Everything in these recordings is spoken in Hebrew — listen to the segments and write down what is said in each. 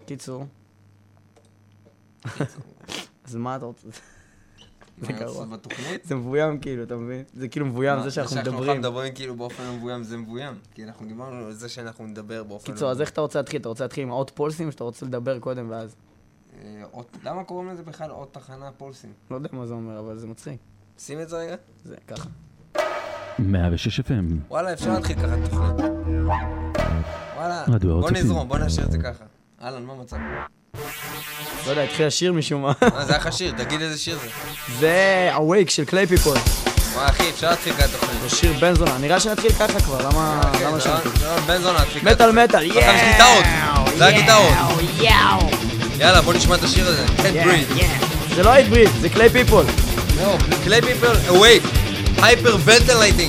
קיצור. אז מה אתה רוצה? זה גרוע. זה מבוים כאילו, אתה מבין? זה כאילו מבוים, זה שאנחנו מדברים. זה שאנחנו מדברים כאילו באופן מבוים, זה מבוים. כי אנחנו דיברנו על זה שאנחנו נדבר באופן מבוים. קיצור, אז איך אתה רוצה להתחיל? אתה רוצה להתחיל עם עוד פולסים, שאתה רוצה לדבר קודם ואז? למה קוראים לזה בכלל עוד תחנה פולסים? לא יודע מה זה אומר, אבל זה מצחיק. שים את זה רגע. זה ככה. 106 FM. וואלה, אפשר להתחיל ככה את תוכנית. וואלה, בוא נזרום, בוא נשאיר את זה ככה. אהלן, מה מצב? לא יודע, התחיל השיר משום מה. זה היה לך שיר, תגיד איזה שיר זה. זה Awake של קליי פיפול. וואי אחי, אפשר להתחיל ככה את תוכנית. זה שיר בן זונה, נראה שנתחיל ככה כבר, למה שנתחיל? בן זונה, נתחיל ככה. מטל מטל, עכשיו יש גיטרות, זה הגיטרות. יאללה, בוא נשמע את השיר הזה. Can't breathe. זה לא Hate Breathe, זה קליי פיפול. לא, קליי פיפול, Awake. Hyperventilating.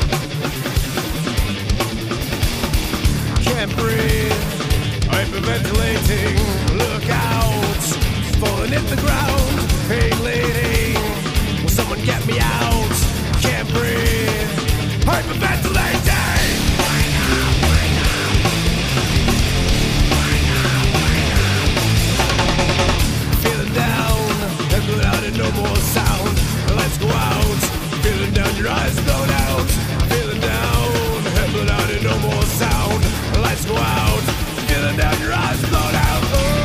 Can't breathe, hyperventilating, look out, falling in the ground, hey lady, will someone get me out, can't breathe, hyperventilating. Feeling down, and blown out and no more sound, let's go out, feeling down, your eyes blown out, feeling down, and blown out and no more sound, let's go out, feeling down, your eyes blown out.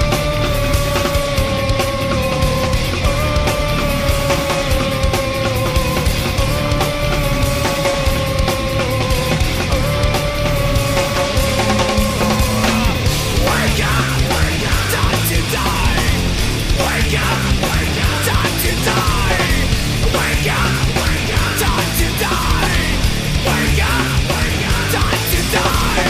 Wake up, time to die. Wake up, time to die. Wake up, time to die. Wake up, time to die.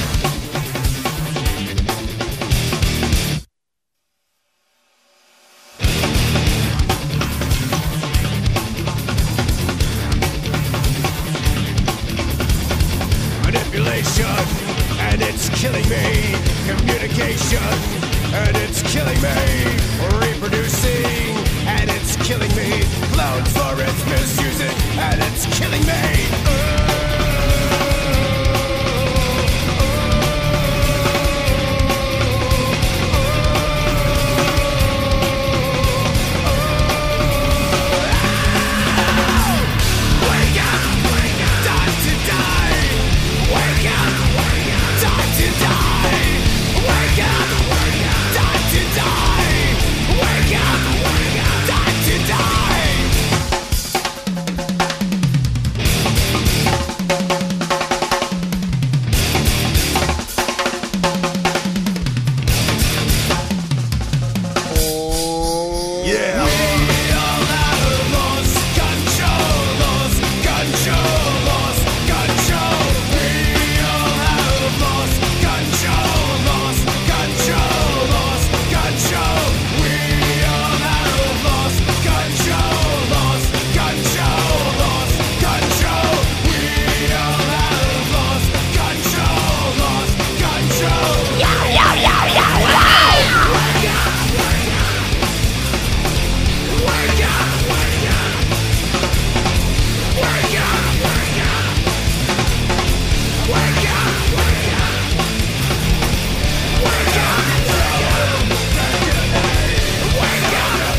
Manipulation, and it's killing me. Communication, and it's killing me. Reproducing, and it's killing me. Clowns for its misusing, and it's killing me. Wake up, time to die. Wake up, time to die. Wake up, time to die. Wake up, time to die. Yeah. We all have lost control, lost control, lost control. We all have lost control, lost control, lost control. We all have lost control, lost control, lost control. We all have lost control, lost control. Yo, yo, yo, yo, yo. Wake up, wake up. Wake up, wake up. Wake up, wake up. Wake up, wake up. Wake up, wake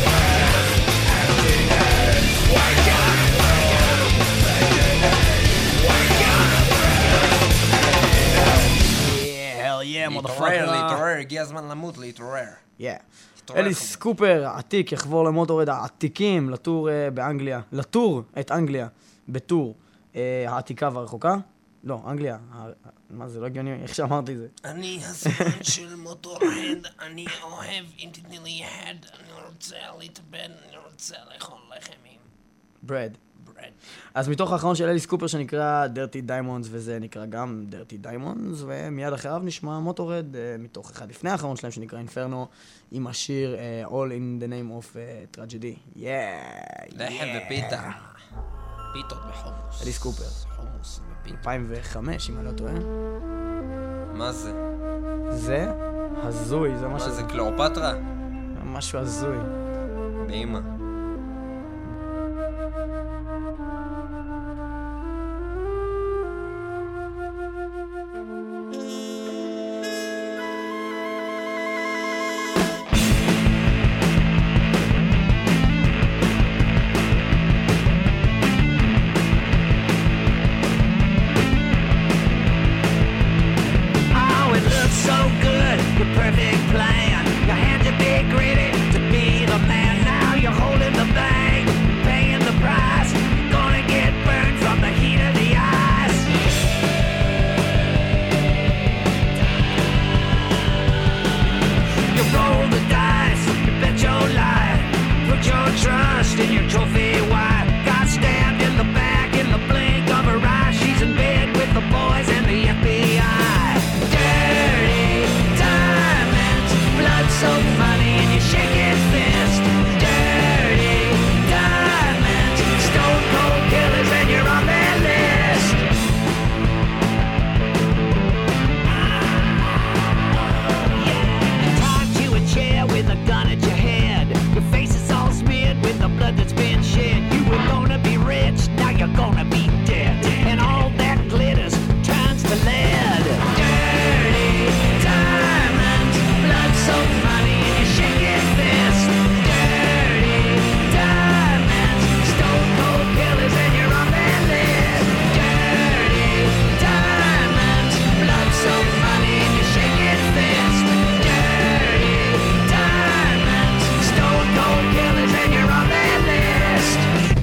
Yeah, hell yeah, להתעורר, motherfucker. להתעורר, הגיע הזמן למות, להתעורר. Yeah. להתעורר, אליס חברים. קופר, העתיק, יחבור למוטורד העתיקים לטור באנגליה. לטור את אנגליה בטור העתיקה והרחוקה. לא, אנגליה. מה זה, לא הגיוני, איך שאמרתי זה. אני הזמן של מוטורד, אני אוהב, אם תתני לי יד, אני רוצה להתאבד, אני רוצה לאכול לחם עם ברד. ברד. אז מתוך האחרון של אליס קופר שנקרא Dirty Diamonds, וזה נקרא גם Dirty Diamonds, ומיד אחריו נשמע מוטורד מתוך אחד לפני האחרון שלהם שנקרא Inferno, עם השיר All in the name of Tragedy. לחם ופיתה. פיתות בחומוס. אליס קופר. חומוס ופיתות. 2005, אם אני לא טועה. מה זה? זה הזוי, זה מה משהו... זה, קליאופטרה? משהו הזוי. באמא. your perfect plan. Your hands are big, greedy to be the man. Now you're holding the bag, paying the price. Gonna get burned from the heat of the eyes. You roll the dice, you bet your life. Put your trust in your trophy wife. Got stabbed in the back in the blink of her eye. She's in bed with the boys and the FBI. Dirty diamonds, blood so funny and you shake his fist. Dirty diamonds, stone cold killers and you're on their list. Tied to a chair with a gun at your head. Your face is all smeared with the blood that's been shed. You were gonna be rich, now you're gonna be dead. And all that glitters turns to lead. Dirty diamonds, blood so funny and you shake his fist. Dirty diamonds, stone cold killers and you're on their list. Dirty diamonds, blood so funny and you shake his fist. Dirty diamonds, stone cold killers and you're on their list.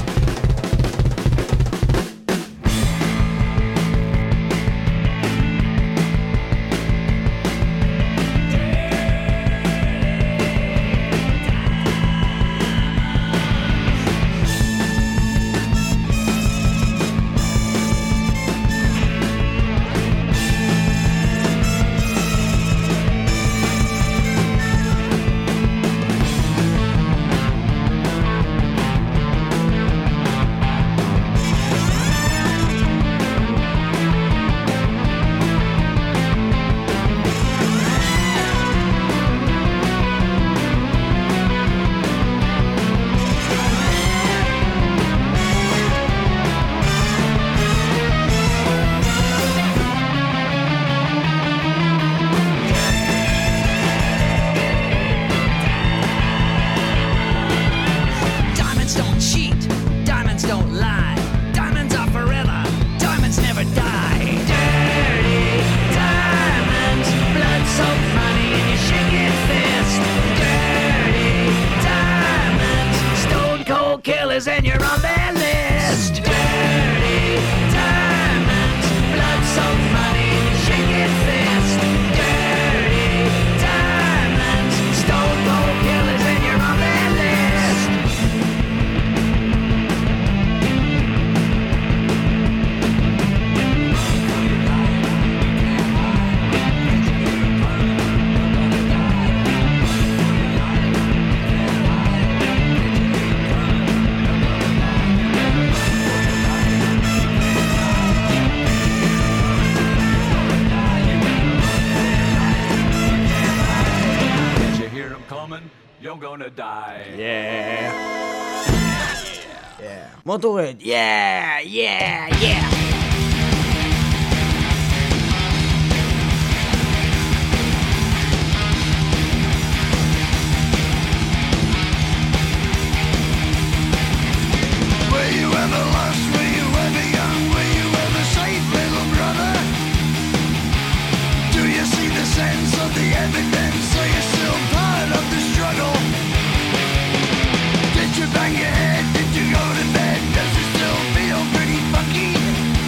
Diamonds don't cheat, diamonds don't lie. Diamonds are forever, diamonds never die. Dirty diamonds, blood so funny and you shake his fist. Dirty diamonds, stone cold killers and you're on their list. Dirty diamonds, blood so funny and you shake his fist. Dirty diamonds, stone cold killers and you're on their list. Did you hear them coming? You're gonna die. Yeah. Yeah. מוטורד. Yeah, yeah, yeah. Were you ever lost? Were you ever young? Were you ever safe, little brother? Do you see the sense of the evidence? Are you still part of the struggle? Did you bang your head? Did you go to bed? Does it still feel pretty funky?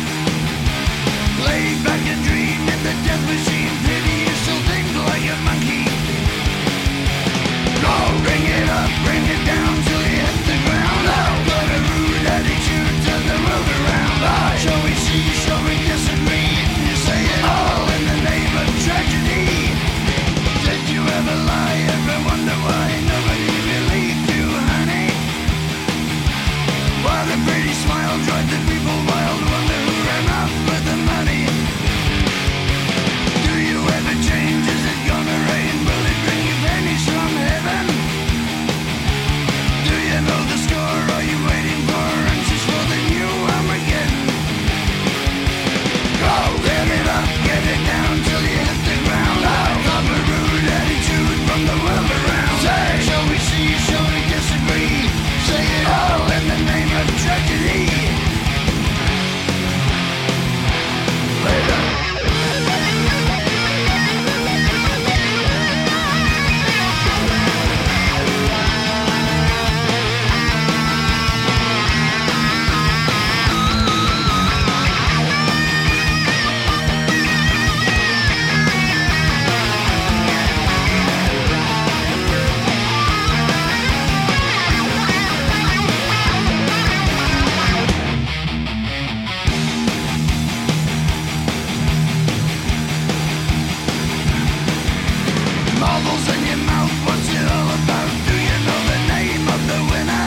your mouth, what's it all about? Do you know the name of the winner?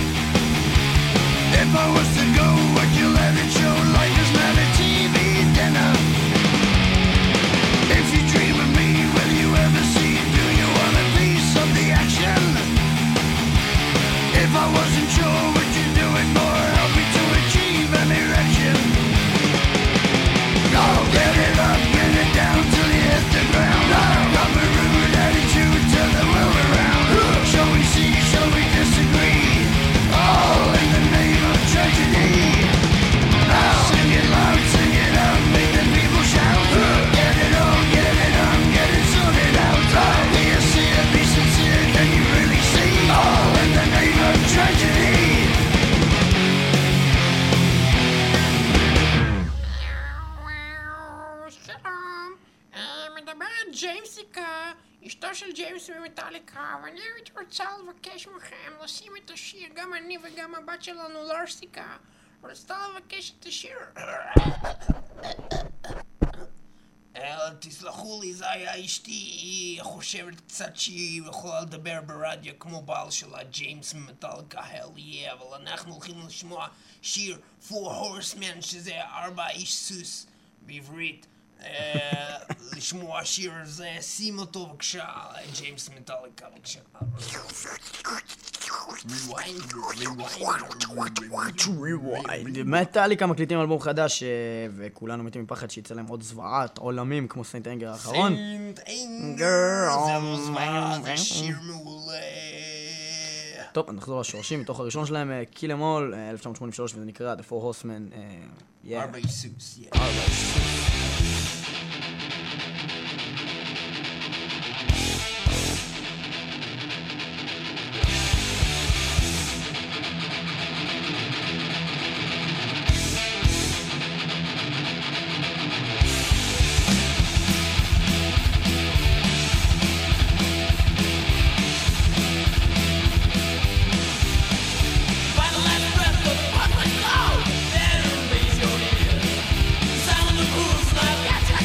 If I was to go, would you let it show? Life is not a TV dinner. If you dream of me, will you ever see? Do you want a piece of the action? If I wasn't sure, would you do it more? Help me to achieve an erection. Oh, get it up, get it down till you hit the ground. Got a rude attitude, turn the world around. Shall we see, shall we disagree? All in the name of tragedy. Now sing it loud, sing it out, make the people shout. Get it on, get it sorted out. Do you see it, be sincere, can you really see? All in the name of tragedy. מדברת ג'יימסיקה, אשתו של ג'יימס ממטאליקה, ואני הייתי רוצה לבקש מכם לשים את השיר, גם אני וגם הבת שלנו לרסיקה, רצתה לבקש את השיר. תסלחו לי, זה היה אשתי, היא חושבת קצת שהיא יכולה לדבר ברדיו כמו בעל שלה, ג'יימס ממטאליקה, hell yeah, אבל אנחנו הולכים לשמוע שיר Four Horsemen, שזה 4 איש סוס בעברית. לשמוע שיר הזה, שים אותו בבקשה, ג'יימס מטאליקה בבקשה. rewind. מטאליקה מקליטים אלבום חדש וכולנו מתים מפחד שיצא להם עוד זוועת עולמים כמו סיינט אנגר האחרון. סיינט אנגר, זה זוועה, זה שיר מעולה. טוב, נחזור לשורשים מתוך הראשון שלהם, Kill Em All, 1983, וזה נקרא The Four Horsemen. 4 איש סוס, 4 איש סוס. Sound of the rules, like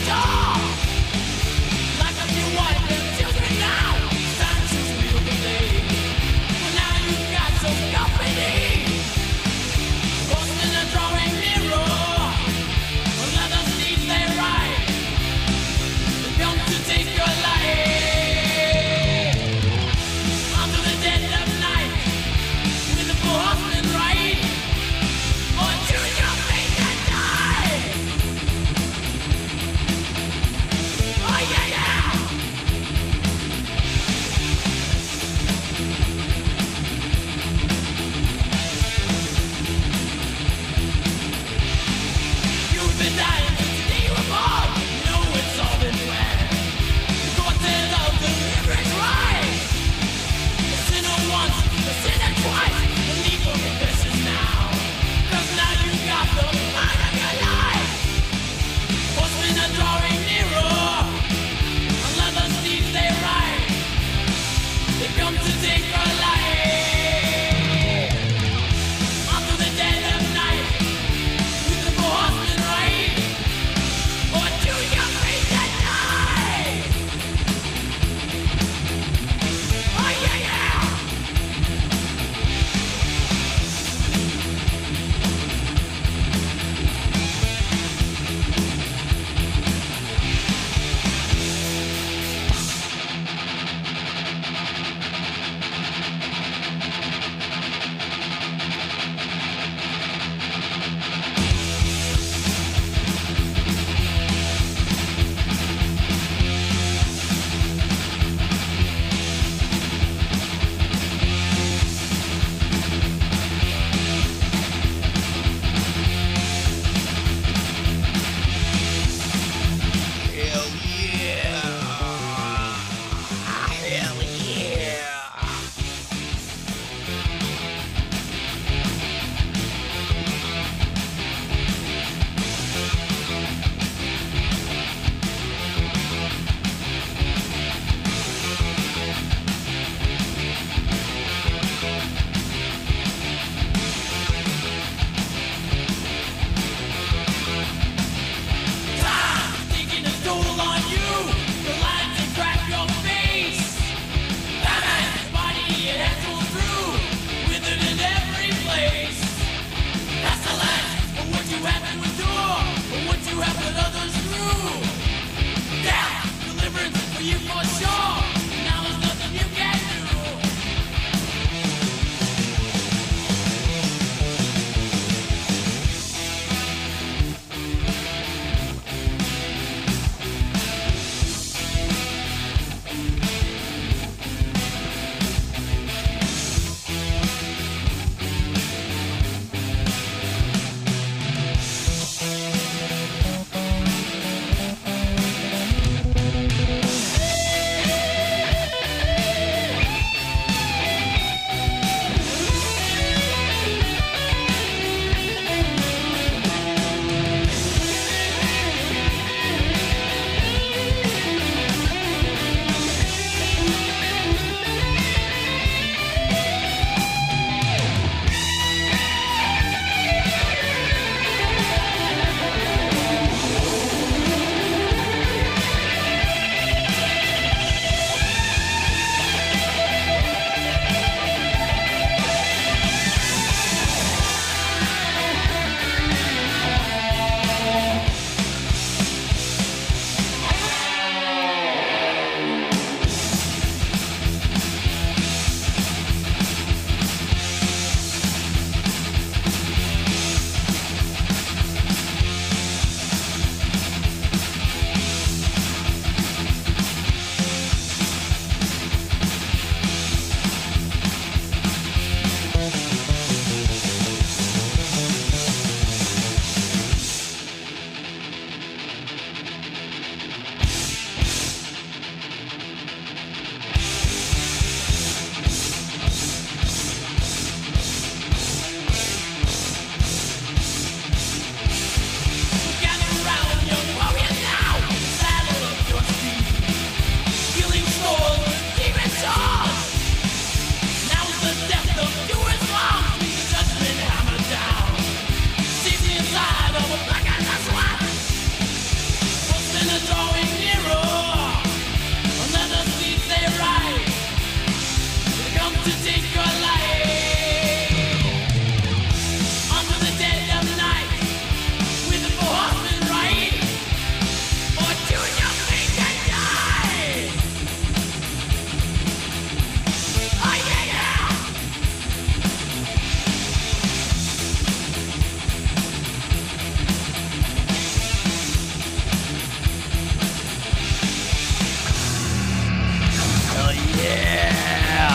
Yeah!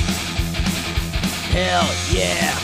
Hell yeah!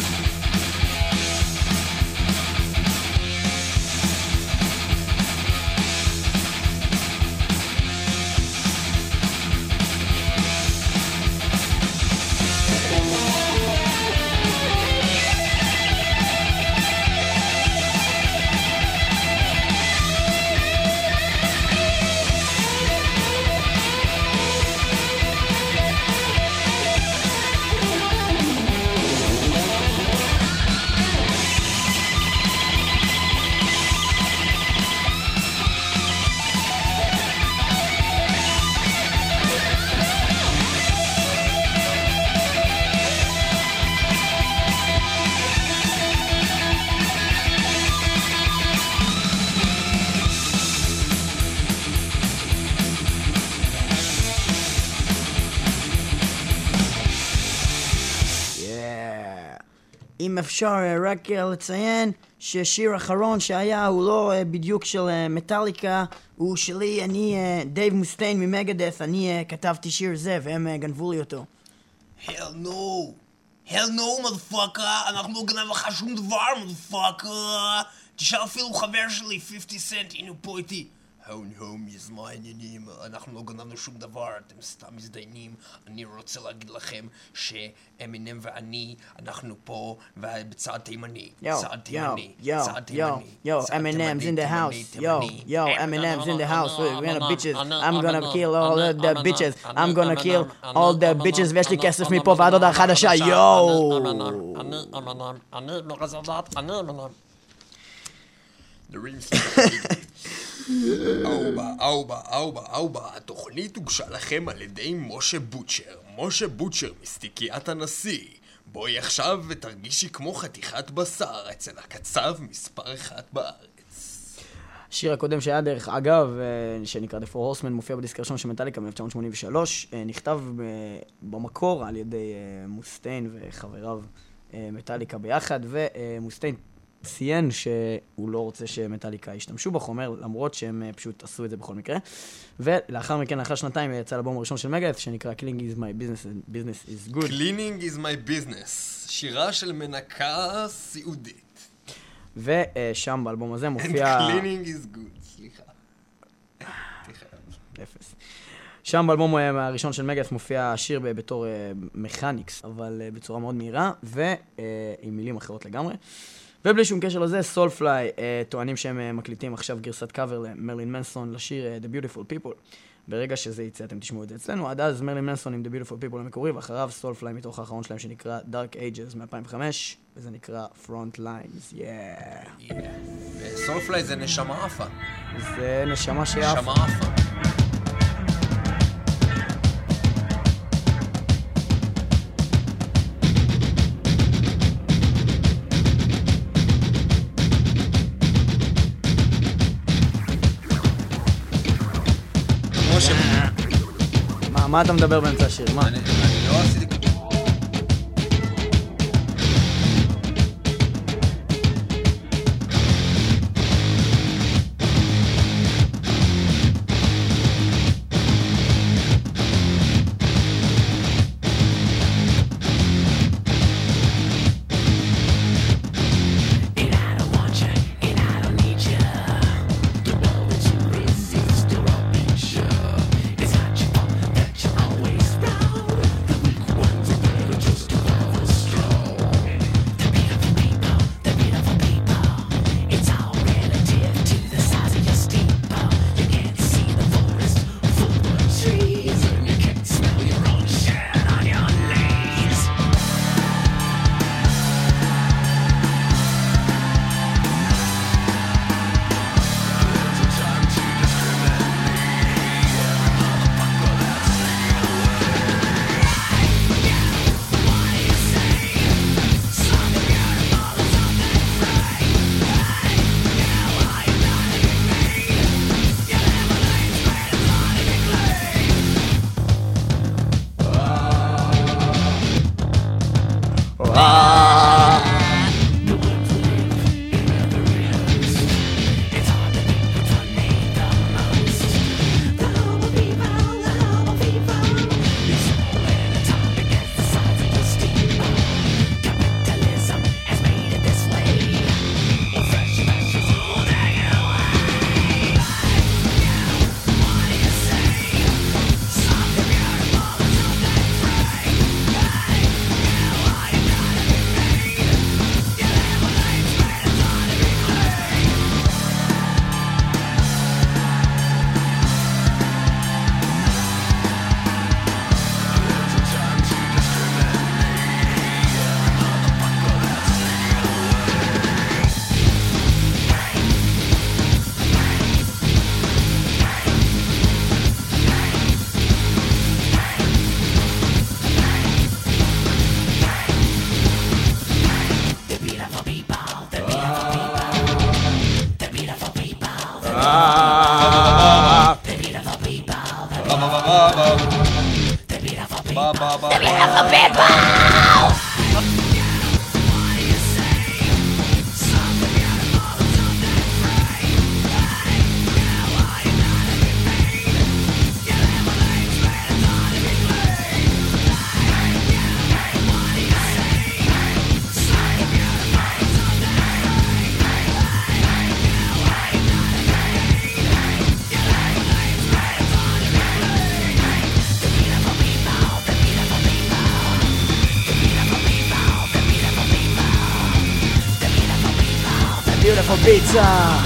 אם אפשר רק לציין ששיר האחרון שהיה הוא לא בדיוק של מטאליקה, הוא שלי, אני דייב מוסטיין ממגדף, אני כתבתי שיר זה והם גנבו לי אותו. Hell no! Hell no, motherfucker! אנחנו לא גנב לך שום דבר, motherfucker! תשאל אפילו חבר שלי, 50 סנט, הנה פה איתי. הומיז, מה העניינים? אנחנו לא גנבנו שום דבר, אתם סתם מזדיינים. אני רוצה להגיד לכם שאמינם ואני, אנחנו פה בצד תימני. צד תימני. צד תימני. Yo, Eminem's in the house. Yo, Eminem's in the house. We're gonna bitches. I'm gonna kill all the bitches. I'm gonna kill all the bitches. ויש לי כסף מפה ועד הודעה חדשה. יואו! אובה, התוכנית הוגשה לכם על ידי משה בוטשר. משה בוטשר מסתיקיית הנשיא. בואי עכשיו ותרגישי כמו חתיכת בשר אצל הקצב מספר 1 בארץ. השיר הקודם שהיה דרך אגב, שנקרא The Four Horsemen, מופיע בדיסק הראשון של מטאליקה מ-1983, נכתב במקור על ידי מוסטיין וחבריו מטאליקה ביחד, ומוסטיין ציין שהוא לא רוצה שמטאליקה ישתמשו בחומר, למרות שהם פשוט עשו את זה בכל מקרה. ולאחר מכן, לאחר שנתיים, יצא לאלבום הראשון של מגדף, שנקרא Cleaning is my business is good. Cleaning is my business, שירה של מנקה סיעודית. ושם באלבום הזה מופיע... And cleaning is good, סליחה. אפס. שם באלבום הראשון של מגדף מופיע השיר בתור מכניקס, אבל בצורה מאוד מהירה, ועם מילים אחרות לגמרי. ובלי שום קשר לזה, סולפליי טוענים שהם מקליטים עכשיו גרסת קאבר למרלין מנסון לשיר The Beautiful People. ברגע שזה יצא אתם תשמעו את זה אצלנו. עד אז מרלין מנסון עם The Beautiful People המקורי, ואחריו סולפליי מתוך האחרון שלהם שנקרא Dark Ages מ-2005, וזה נקרא Front Lines. סולפליי זה נשמה עפה. זה נשמה שיפה. נשמה עפה. מה אתה מדבר באמצע השיר? מה? אני לא עשיתי... Beautiful pizza.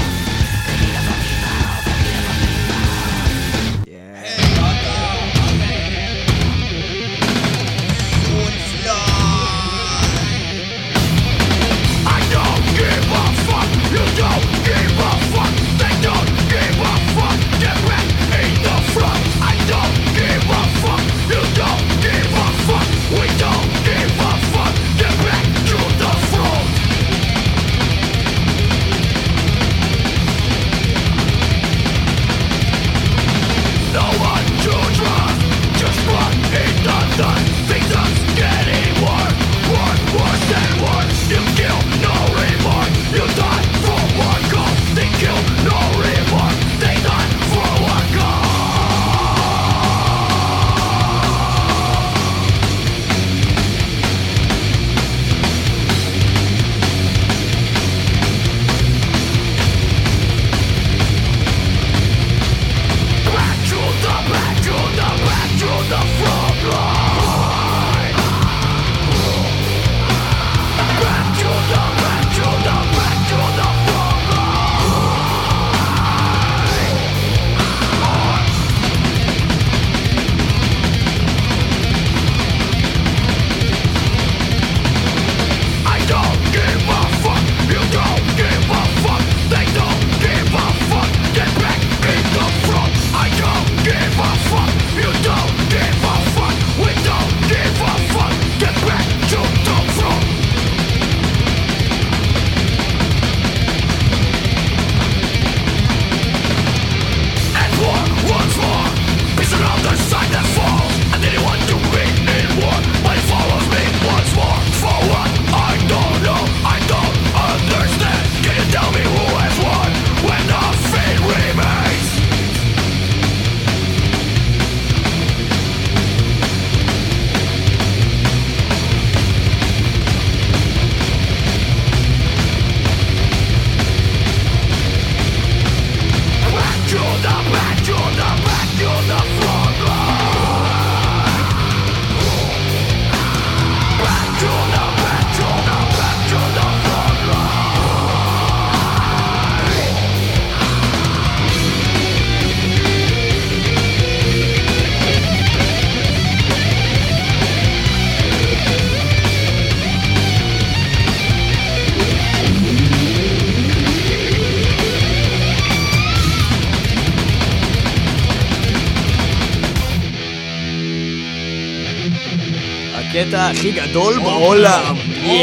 הקטע הכי גדול בעולם.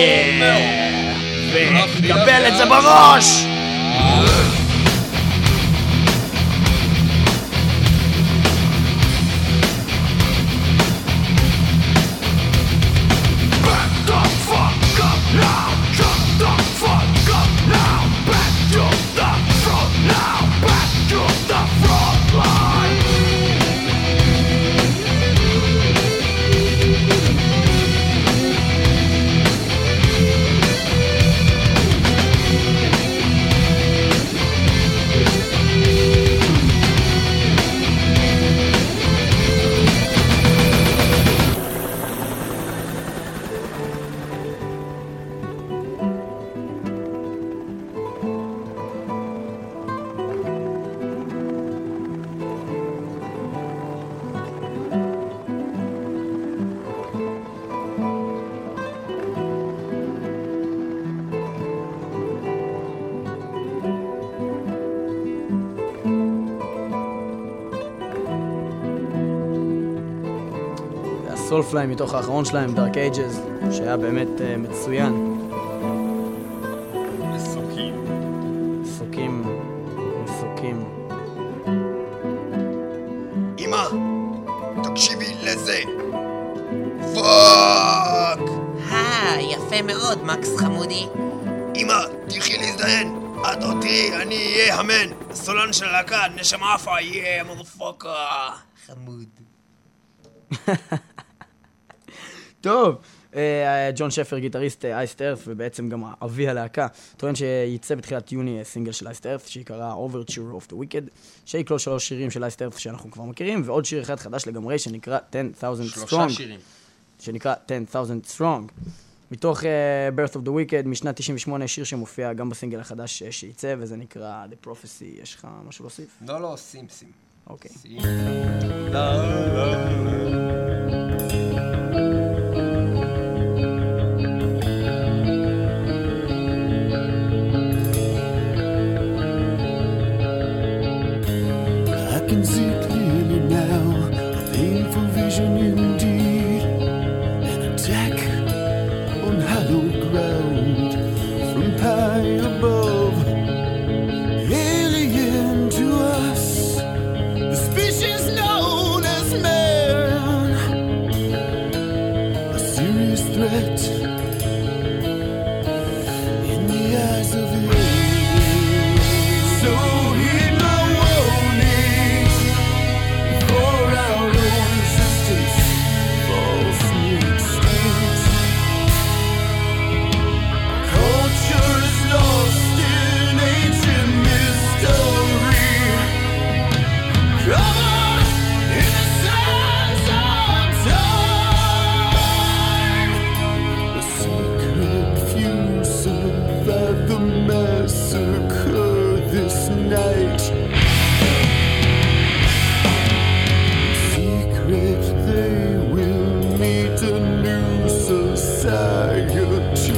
וקבל את זה בראש! סולפליי מתוך האחרון שלהם, דארק אייג'ז, שהיה באמת מצוין. מסוקים. אמא, תקשיבי לזה. פאק! יפה מאוד, מקס חמודי. אמא, תלכי להזדיין. את עוד תראי, אני אהיה המן. הסולן של הלהקה, נשמה עפה, יהיה מודפוקה. חמוד. טוב, ג'ון שפר, גיטריסט אייסט ארת, ובעצם גם אבי הלהקה, טוען שייצא בתחילת יוני סינגל של אייסט ארת, שיקרא Overture of the Wicked, שיקלול 3 שירים של אייסט ארת שאנחנו כבר מכירים, ועוד שיר אחד חדש לגמרי שנקרא 10,000 Strong. 3 שירים. שנקרא 10,000 Strong. מתוך Birth of the Wicked, משנת 98, שיר שמופיע גם בסינגל החדש שייצא, וזה נקרא The Prophecy. יש לך משהו להוסיף? לא, שים. אוקיי. I can see clearly now, a painful vision indeed, an attack on hallowed ground from high above, alien to us, the species known as man, a serious threat in the eyes of the earth. So heed my warning, for our own existence, false instincts. Culture is lost in ancient mystery, covered in the sands of time. The secret few survived the massacre this night. Secret, they will meet a new society.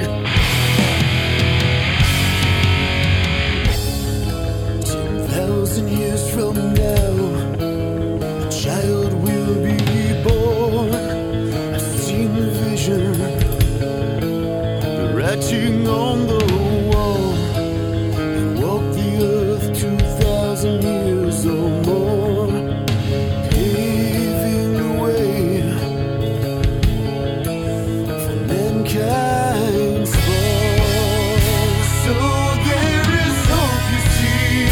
10,000 years from now, a child will be born. I've seen the vision, the writing on the wall. They walk the earth 2,000 years or more, paving the way for mankind's fall. So there is hope, you see.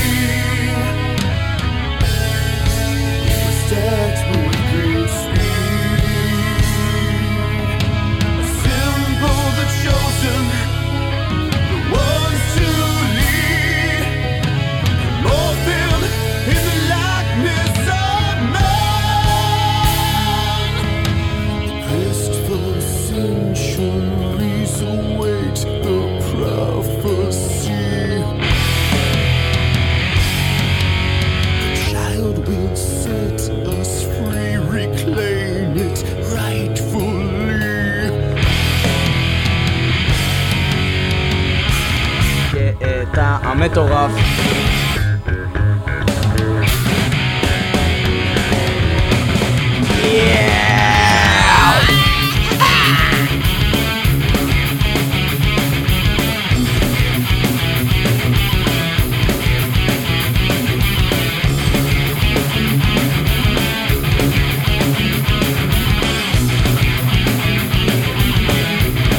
We start with great speed. Assemble the chosen, the ones to lead, morph them in the likeness of man. The quest for centuries await the prophecy. The child will set us free, reclaim it rightfully. אתה המטורף.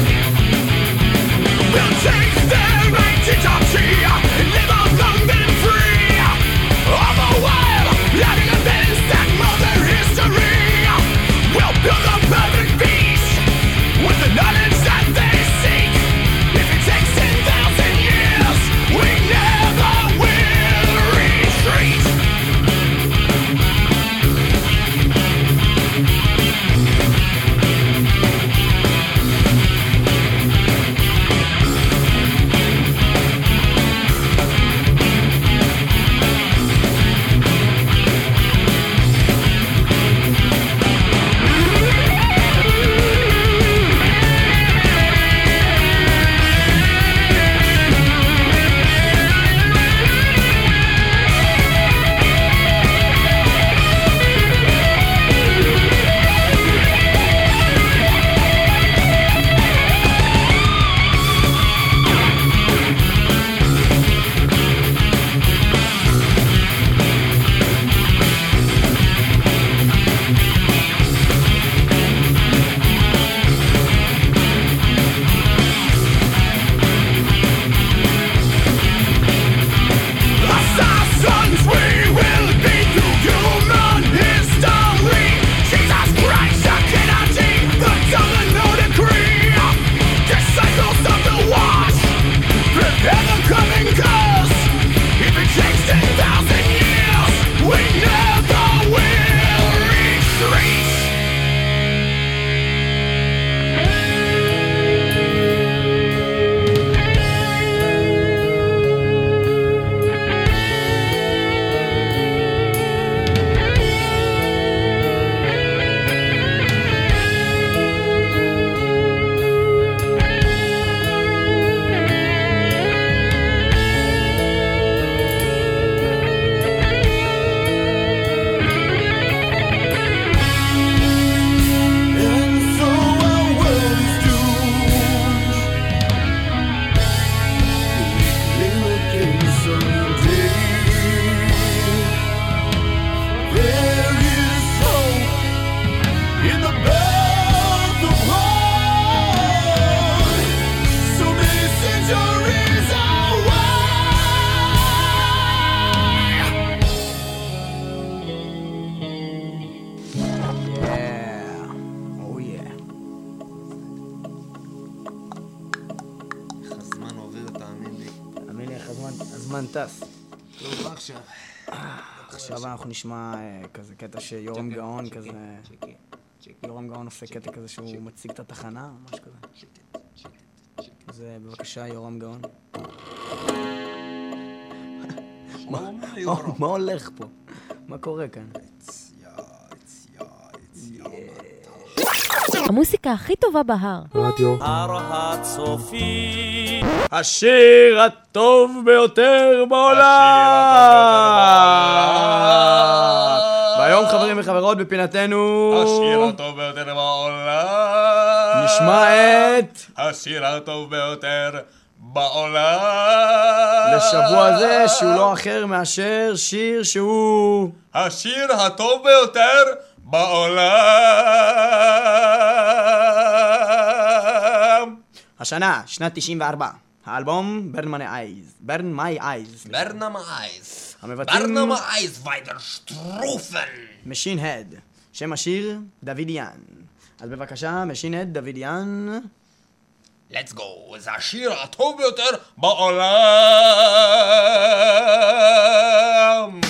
We'll take their identity and live on long and free. הזמן טס. טוב, מה עכשיו? עכשיו אנחנו נשמע כזה קטע שיורם גאון כזה... יורם גאון עושה קטע כזה שהוא מציג את התחנה, משהו כזה. אז בבקשה, יורם גאון. מה הולך פה? מה קורה כאן? המוסיקה הכי טובה בהר. רדיו. הר הצופים. השיר הטוב ביותר בעולם! והיום חברים וחברות בפינתנו... השיר הטוב ביותר בעולם. נשמע את... השיר הטוב ביותר בעולם. לשבוע זה שהוא לא אחר מאשר שיר שהוא... השיר הטוב ביותר בעולם. השנה, שנת 94. האלבום Burn My Eyes. ברנם אייז. המבצעים... ברנם אייז ויידר שטרופן. משין הד. שם השיר דוידיאן. אז בבקשה, משין הד דוידיאן. Let's go. זה השיר הטוב ביותר בעולם.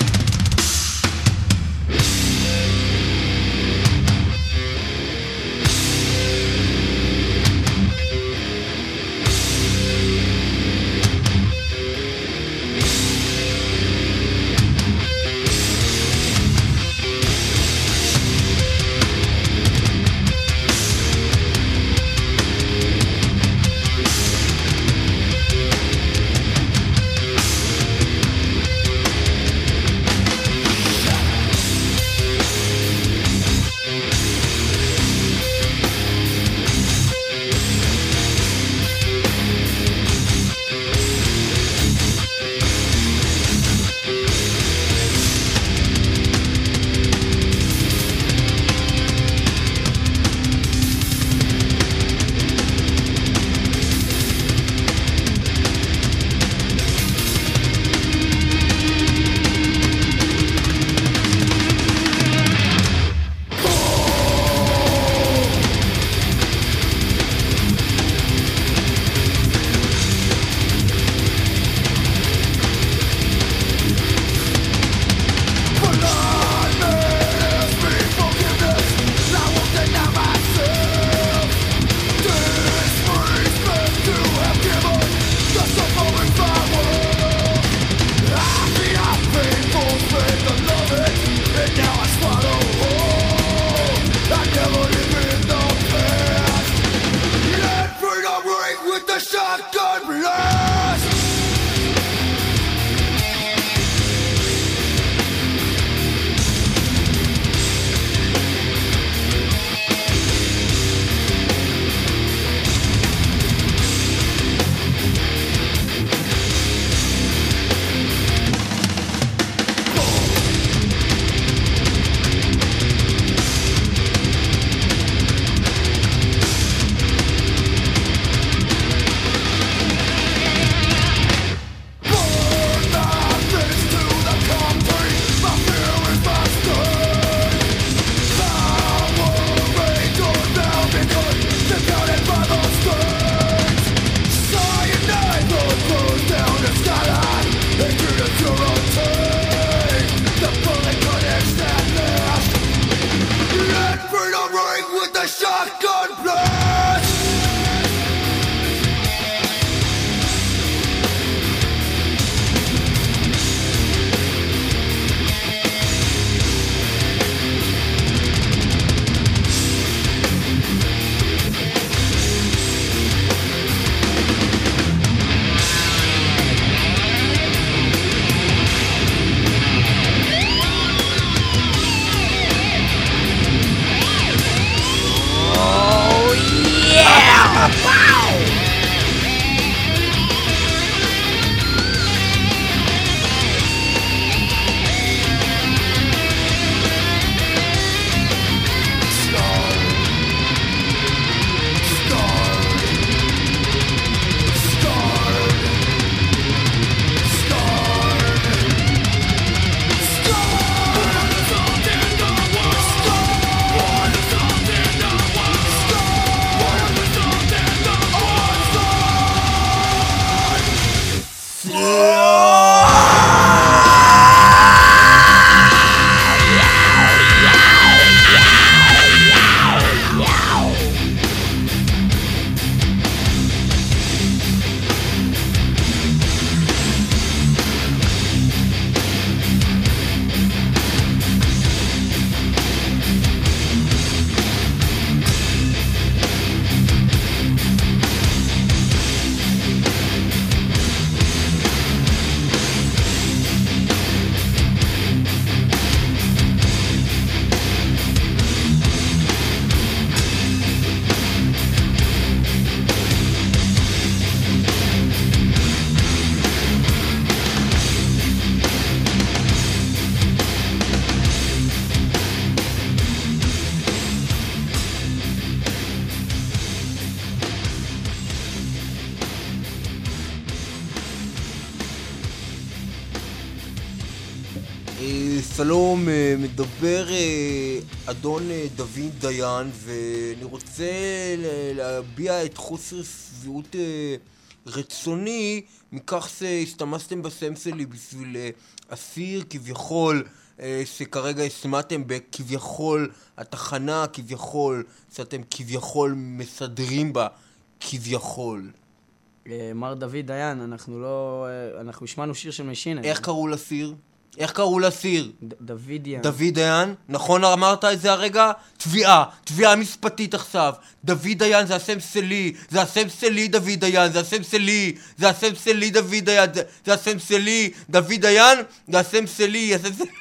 שלום, מדבר אדון דוד דיין, ואני רוצה להביע את חוסר שביעות רצוני מכך שהסתמסתם בסם שלי בשביל אסיר כביכול שכרגע הסמאתם בכביכול התחנה כביכול שאתם כביכול מסדרים בה כביכול. מר דוד דיין, אנחנו השמענו שיר של משין. איך קראו לסיר? איך קראו לסיר? דוד דיין. דוד דיין? נכון אמרת את זה הרגע? תביעה משפטית עכשיו. דוד דיין זה השם שלי, זה השם שלי דוד דיין, זה השם שלי, זה השם שלי דוד דיין, זה השם שלי, דוד דיין, זה השם שלי,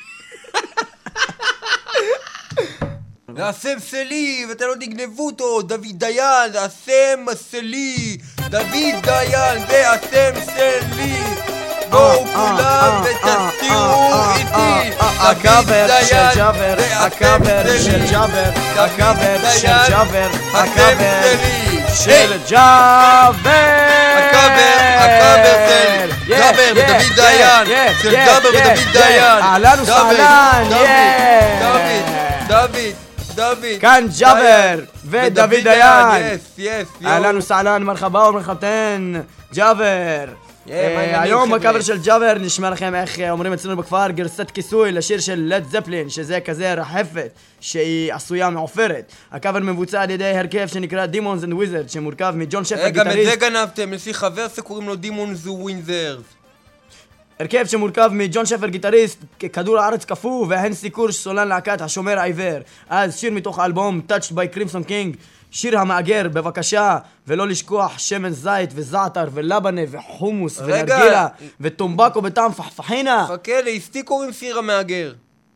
זה השם שלי, ואתה לא תגנבו אותו, דוד דיין, זה השם שלי, דוד דיין, זה השם שלי. בואו כולם ותסתירו איתי. הקאבר של ג'אבר, הקאבר של ג'אבר, הקאבר של ג'אבר, הקאבר של ג'אבר, הקאבר של ג'אבר ודוד דיין, של ג'אבר ודוד דיין. אהלן וסהלן, דוד כאן ג'אבר ודוד דיין. אהלן יס. וסהלן, מרחבה ומרחבתן, ג'אבר. היום בקאבר של ג'אבר נשמע לכם איך אומרים אצלנו בכפר גרסת כיסוי לשיר של לד זפלין, שזה כזה רחפת שהיא עשויה מעופרת. הקאבר מבוצע על ידי הרכב שנקרא Demons and Wizards שמורכב מג'ון שפר גיטריסט. גם את זה גנבתם, יש לי חבר שקוראים לו Demons and Wizards. הרכב שמורכב מג'ון שפר גיטריסט, כדור הארץ קפוא, והן סיקור סולן להקת השומר העיוור. אז שיר מתוך האלבום Touched by Crimson King, שיר המאגר, בבקשה, ולא לשכוח שמן זית וזעתר ולבנה וחומוס ונרגילה וטומבקו בטעם פחפחינה. חכה, לאשתי קוראים שיר המאגר.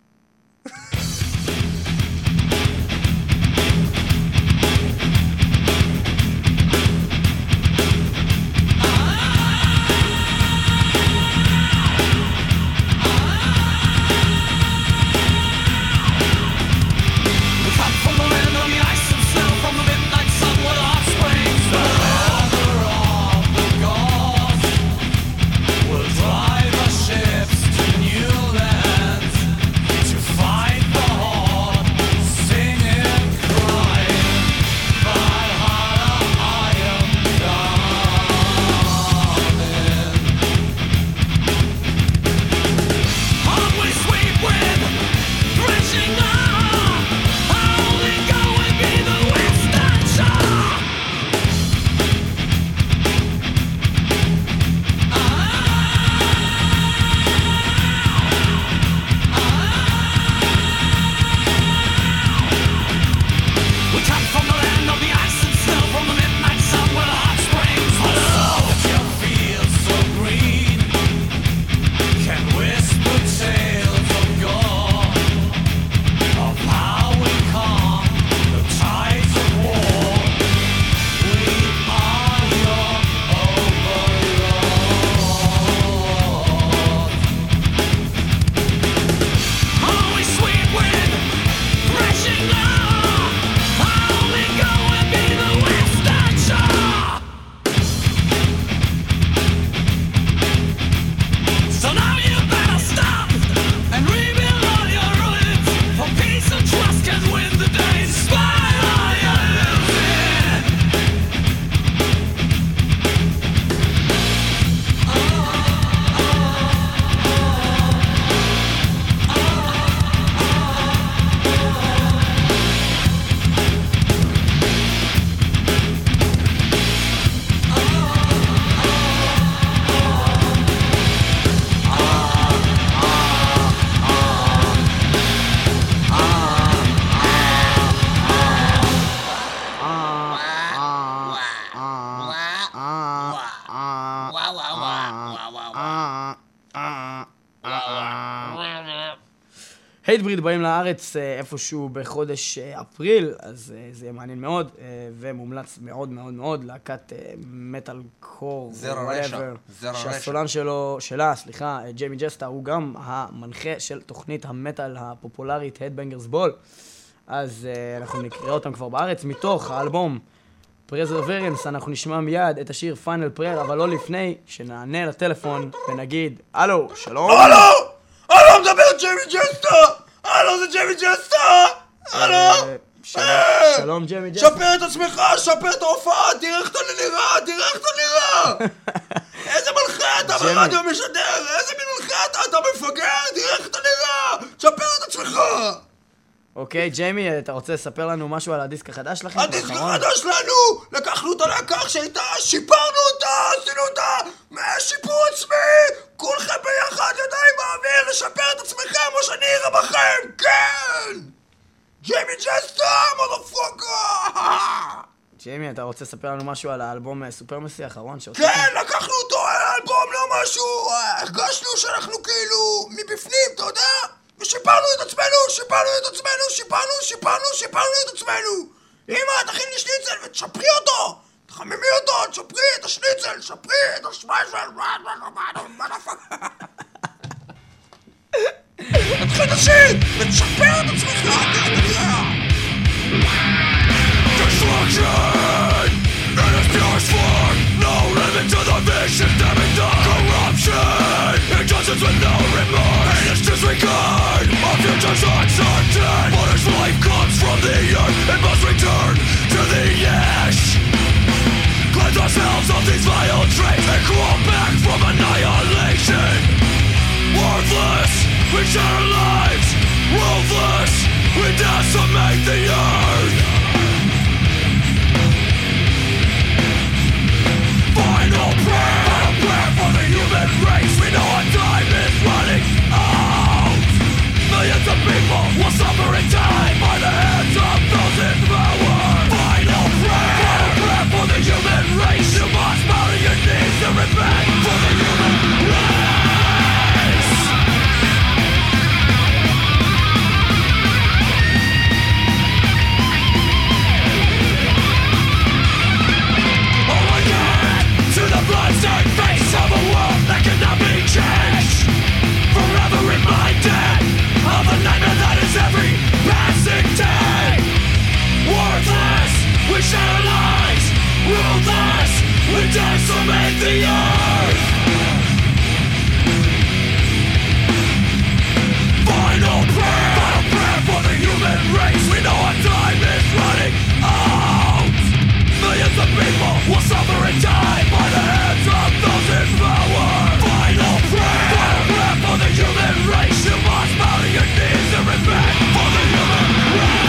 הייטבריד באים לארץ איפשהו בחודש אפריל, אז זה מעניין מאוד, ומומלץ מאוד מאוד מאוד, להקת מטל קור, שהסולן שלה, ג'יימי ג'סטה, הוא גם המנחה של תוכנית המטל הפופולרית Headbangers Ball, אז אנחנו נקרא אותם כבר בארץ, מתוך האלבום Perseverance, אנחנו נשמע מיד את השיר Final Prayer, אבל לא לפני שנענה לטלפון ונגיד, הלו, שלום? הלו, מדבר ג'יימי ג'סטה! הלו, זה ג'יימי ג'סטה! הלו! שלום ג'יימי ג'סטה. שפר את עצמך, שפר את ההופעה, תראה איך אתה נראה! איזה מלכה אתה ברדיו משדר! איזה מין מלכה אתה מפגר! תראה איך אתה נראה! שפר את עצמך! אוקיי, ג'יימי, אתה רוצה לספר לנו משהו על הדיסק החדש שלכם? הדיסק החדש שלנו! לקחנו אותה להקח שהייתה, שיפרנו אותה, עשינו אותה שיפור עצמי! כולכם ביחד ידיים באוויר לשפר את עצמכם כמו שאני אראה בכם! כן! ג'יימי ג'סטה, מודרפוקר! ג'יימי, אתה רוצה לספר לנו משהו על האלבום סופרמסי האחרון שהוצאתם? כן, לקחנו אותו על האלבום, לא משהו! הרגשנו שאנחנו כאילו מבפנים, אתה יודע? ושיפרנו את עצמנו, שיפרנו את עצמנו! אמא, תכין לי שניצל ותשפרי אותו! תחממי אותו, תשפרי את השניצל, שפרי את השמיישל, תתחיל את השיט ותשפר את עצמך, Destruction in its purest form, no limit to the vision, damning the corruption, injustice with no remorse, heinous disregard of futures uncertain. But as life comes from the earth, it must return to the ash. Cleanse ourselves of these vile traits and crawl back from annihilation. Worthless, we share our lives. Ruthless, we decimate the earth. Final prayer for the human race. We know our time is running out. Millions of people will suffer in time by the hands of those in power. Final prayer for the human race. You must bow to your knees and repent for the human race. Bloodstained face of a world that cannot be changed. Forever reminded of the nightmare that is every passing day. Worthless, we share our lives. Ruthless, we decimate the earth. Final prayer for the human race. We know our time is running out. Millions of people will suffer and die by the hands of those in power. Final prayer for the human race. You must bow to your knees and repent for the human race.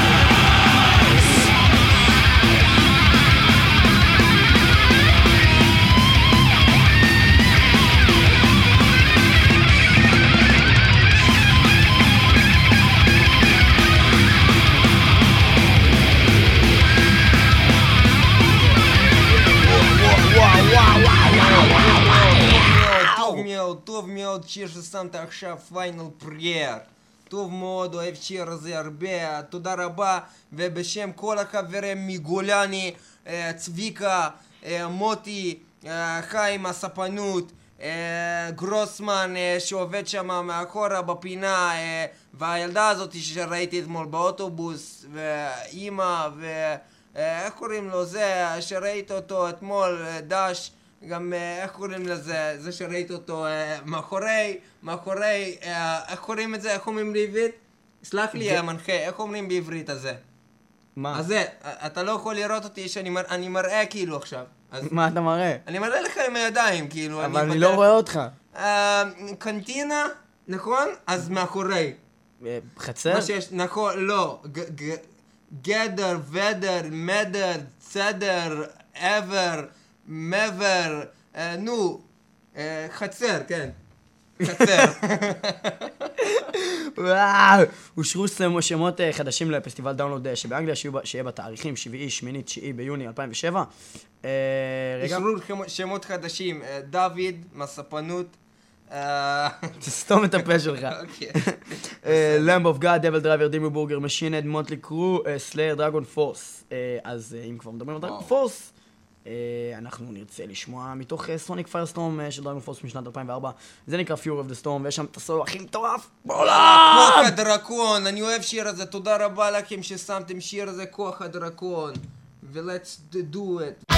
טוב מאוד שיר ששמת עכשיו פיינל פרייר. טוב מאוד, אוהב שיר הזה הרבה, תודה רבה. ובשם כל החברים מגולני, צביקה, מוטי, חיים הספנות, גרוסמן שעובד שם מאחורה בפינה, והילדה הזאת שראיתי אתמול באוטובוס, ואימא, ואיך קוראים לו זה, שראית אותו אתמול, דש, גם איך קוראים לזה, זה שראית אותו מאחורי, איך קוראים את זה, איך אומרים בעברית? סלח לי המנחה, איך אומרים בעברית הזה? מה? אז זה, אתה לא יכול לראות אותי שאני מראה כאילו עכשיו. מה אתה מראה? אני מראה לך עם הידיים כאילו. אבל אני לא רואה אותך. קנטינה, נכון? אז מאחורי. חצר? מה שיש, נכון, לא. גדר, ודר, מדר, צדר, עבר, מעבר, נו, חצר, כן. חצר. וואו, אושרו שמות חדשים לפסטיבל דאונלוד שבאנגליה שיהיה בתאריכים 7, 8, 9 ביוני 2007. אושרו שמות חדשים, דוד, מספנות. תסתום את הפה שלך. למב אוף גאד, דבל דרייבר, דימו בורגר, משינד, מונטלי קרו, סלייר, דרגון פורס. אז אם כבר מדברים על דרגון פורס, אנחנו נרצה לשמוע מתוך סוניק פיירסטורם של דרגון פורס משנת 2004. זה נקרא Fury of the Storm, ויש שם את הסולו הכי מטורף בעולם! כוח הדרקון, אני אוהב שיר הזה, תודה רבה לכם ששמתם שיר הזה, כוח הדרקון. ו-let's do it.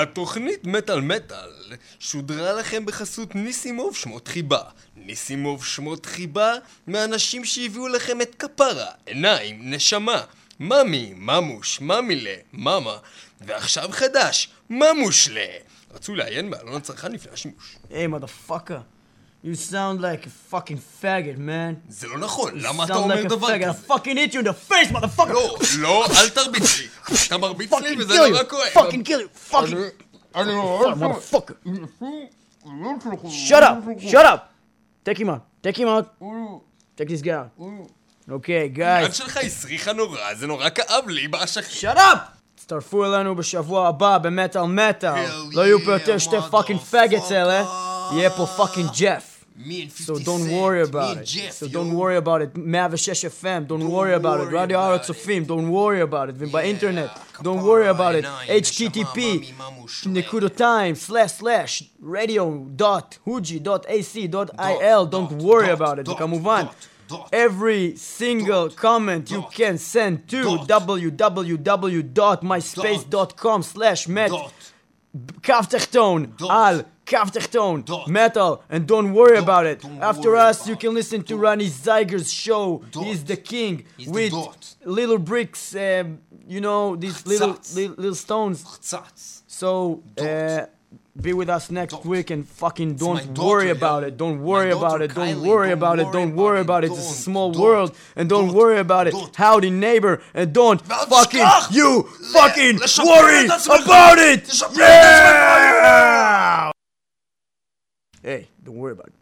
התוכנית מטל מטל שודרה לכם בחסות ניסימוב שמות חיבה. ניסימוב שמות חיבה מאנשים שהביאו לכם את כפרה, עיניים, נשמה, ממי, ממוש, ממילה, ממה, ועכשיו חדש, ממושלה. רצו לעיין בעלון הצרכן לפני השימוש. Hey, motherfucker. You sound like a fucking faggot, man. זה לא נכון, למה אתה sound אומר like a דבר faggot. כזה? I fucking hit you in the face, motherfucker. לא, אל תרביץ לי. אתה מרביץ לי וזה kill נורא you. כואב. Fucking kill you. Fucking motherfucker. Shut up. Take him out. Take this guy out. Okay, guys. היד שלך הסריחה נורא, זה נורא כאב לי באשכים. Shut up! תצטרפו אלינו בשבוע הבא במטל מטל. לא יהיו פה יותר שתי פאקינג פאגטס אלה. יהיה פה פאקינג ג'ף. So don't worry about it. So don't worry about it. 106 FM, don't worry about it. רדיו הר הצופים, don't worry about it. ובאינטרנט, don't worry about it. http://radio.huji.ac.il. Don't worry about it. וכמובן, every single comment you can send to www.myspace.com/met קו תחתון על קו תחתון metal, and don't worry about it. After us you can listen to Ronnie Zeiger's show. He's the king with little bricks, you know, these little stones. So be with us next week and fucking don't worry about it. Don't worry about it. Don't worry about it. Don't worry about it. It's a small world, and don't worry about it. Howdy neighbor, and don't fucking you fucking worry about it. Yeah! Hey, don't worry about it.